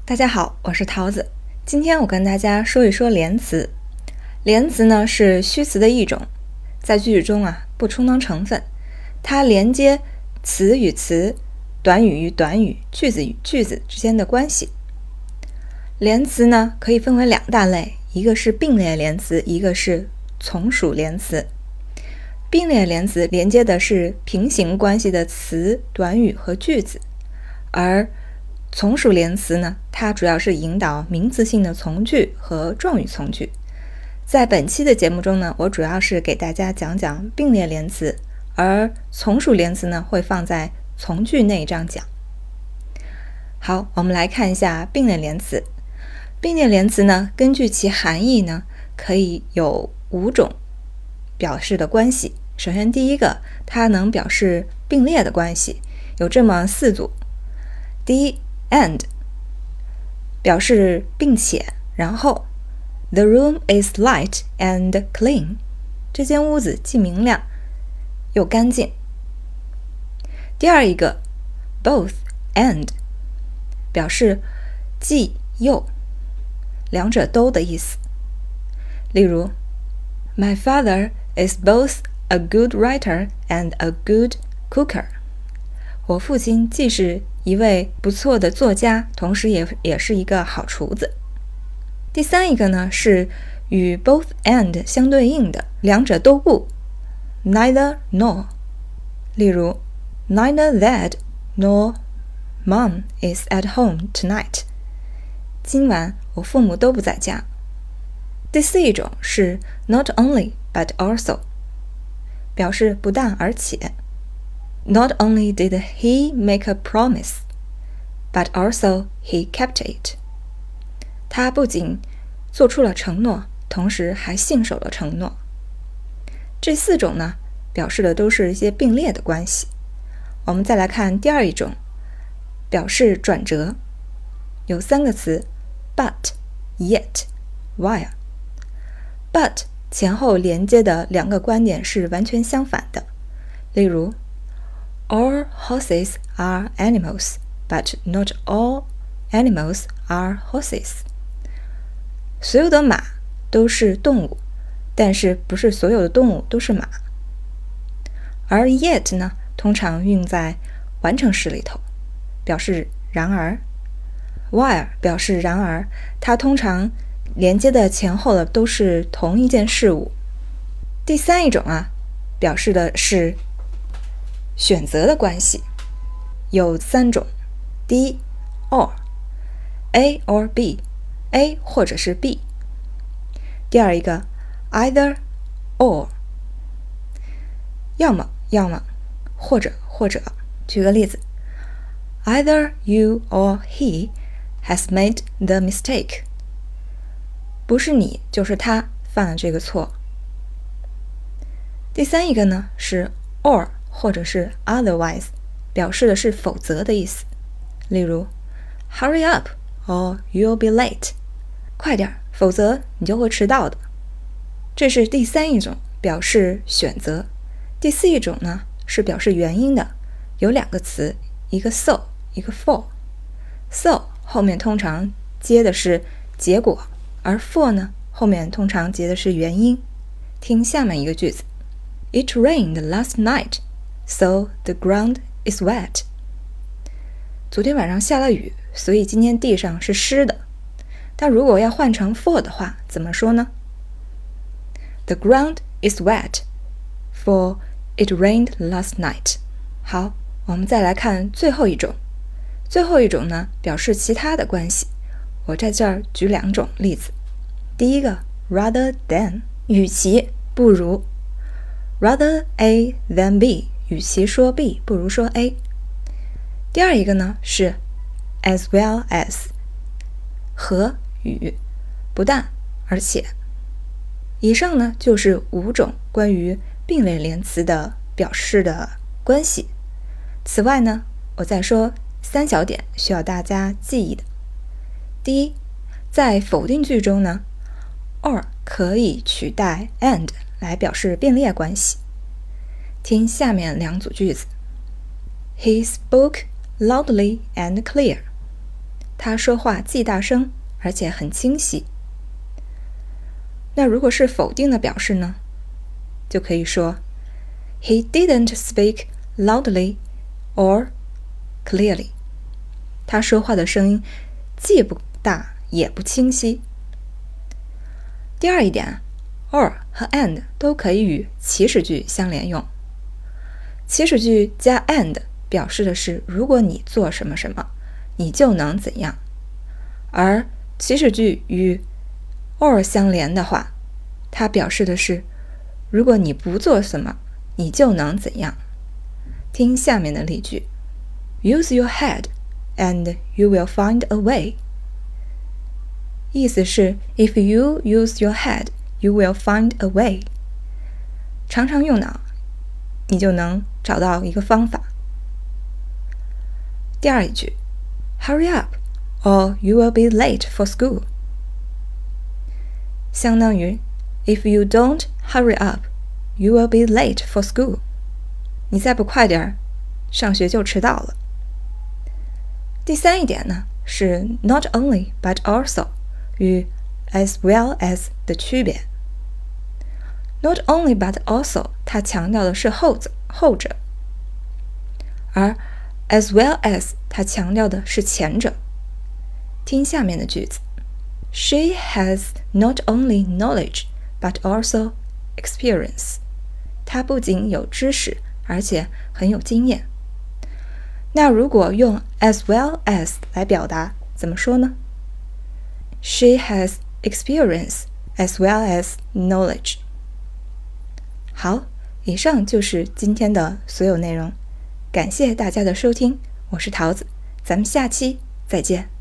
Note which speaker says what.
Speaker 1: 大家好，我是桃子。今天我跟大家说一说连词。连词呢是虚词的一种，在句子中不充当成分，它连接词与词、短语与短语、句子与句子之间的关系。连词呢可以分为两大类，一个是并列连词，一个是从属连词。并列连词连接的是平行关系的词、短语和句子，而从属连词呢，它主要是引导名词性的从句和状语从句。在本期的节目中呢，我主要是给大家讲讲并列连词，而从属连词呢会放在从句那一章讲。好，我们来看一下并列连词。并列连词呢，根据其含义呢，可以有5种表示的关系。首先第一个，它能表示并列的关系，有这么4组。第一，and 表示并且，然后 The room is light and clean 这间屋子既明亮又干净。第二一个 both and 表示既又，两者都的意思。例如 My father is both a good writer and a good cooker 我父亲既是一位不错的作家，同时也是一个好厨子。第三一个呢，是与 both and 相对应的，两者都不 neither nor。 例如 Neither Dad nor Mom is at home tonight 今晚我父母都不在家。第四一种是 not only but also 表示不但而且。Not only did he make a promise, but also he kept it. 他不仅做出了承诺，同时还信守了承诺。这4种呢，表示的都是一些并列的关系。我们再来看第二一种，表示转折，有3个词 but, yet, while。 but 前后连接的2个观点是完全相反的。例如All horses are animals, but not all animals are horses. 所有的马都是动物，但是不是所有的动物都是马。而 yet 呢，通常用在完成时里头，表示然而。while 表示然而，它通常连接的前后的都是同一件事物。第三一种表示的是选择的关系，有3种。第一 or A or B A 或者是 B。 第二一个 either or 要么或者。举个例子 Either you or he has made the mistake 不是你就是他犯了这个错。第三一个呢是 or或者是 otherwise 表示的是否则的意思。例如 Hurry up or you'll be late 快点，否则你就会迟到的。这是第三一种表示选择。第四一种呢是表示原因的，有2个词，一个 so 一个 for。 so 后面通常接的是结果，而 for 呢后面通常接的是原因。听下面一个句子 It rained last night So the ground is wet. 昨天晚上下了雨，所以今天地上是湿的。但如果要换成 for 的话，怎么说呢？ The ground is wet, for it rained last night. 好，我们再来看最后一种。最后一种呢，表示其他的关系。我在这儿举2种例子。第一个 rather than 与其不如 Rather A than B与其说 B 不如说 A。 第二一个呢是 as well as 和与，不但而且。以上呢就是5种关于并列连词的表示的关系。此外呢，我再说3小点需要大家记忆的。第一，在否定句中呢 or 可以取代 and 来表示并列关系。听下面2组句子 He spoke loudly and clear 他说话既大声，而且很清晰。那如果是否定的表示呢，就可以说 He didn't speak loudly or clearly. 他说话的声音既不大也不清晰。第二一点 or 和 and 都可以与祈使句相连用。祈使句加 and 表示的是如果你做什么什么，你就能怎样。而祈使句与 or 相连的话，它表示的是如果你不做什么，你就能怎样。听下面的例句 Use your head and you will find a way. 意思是 If you use your head, you will find a way. 常常用脑，你就能找到一个方法。第二一句 Hurry up or you will be late for school. 相当于 If you don't hurry up, you will be late for school. 你再不快点，上学就迟到了。第三一点呢，是 not only but also 与 as well as 的区别。Not only but also 它强调的是后者，而 as well as 它强调的是前者。听下面的句子 She has not only knowledge but also experience. 她不仅有知识，而且很有经验。那如果用 as well as 来表达，怎么说呢？ She has experience as well as knowledge. 好，以上就是今天的所有内容。感谢大家的收听，我是桃子，咱们下期再见。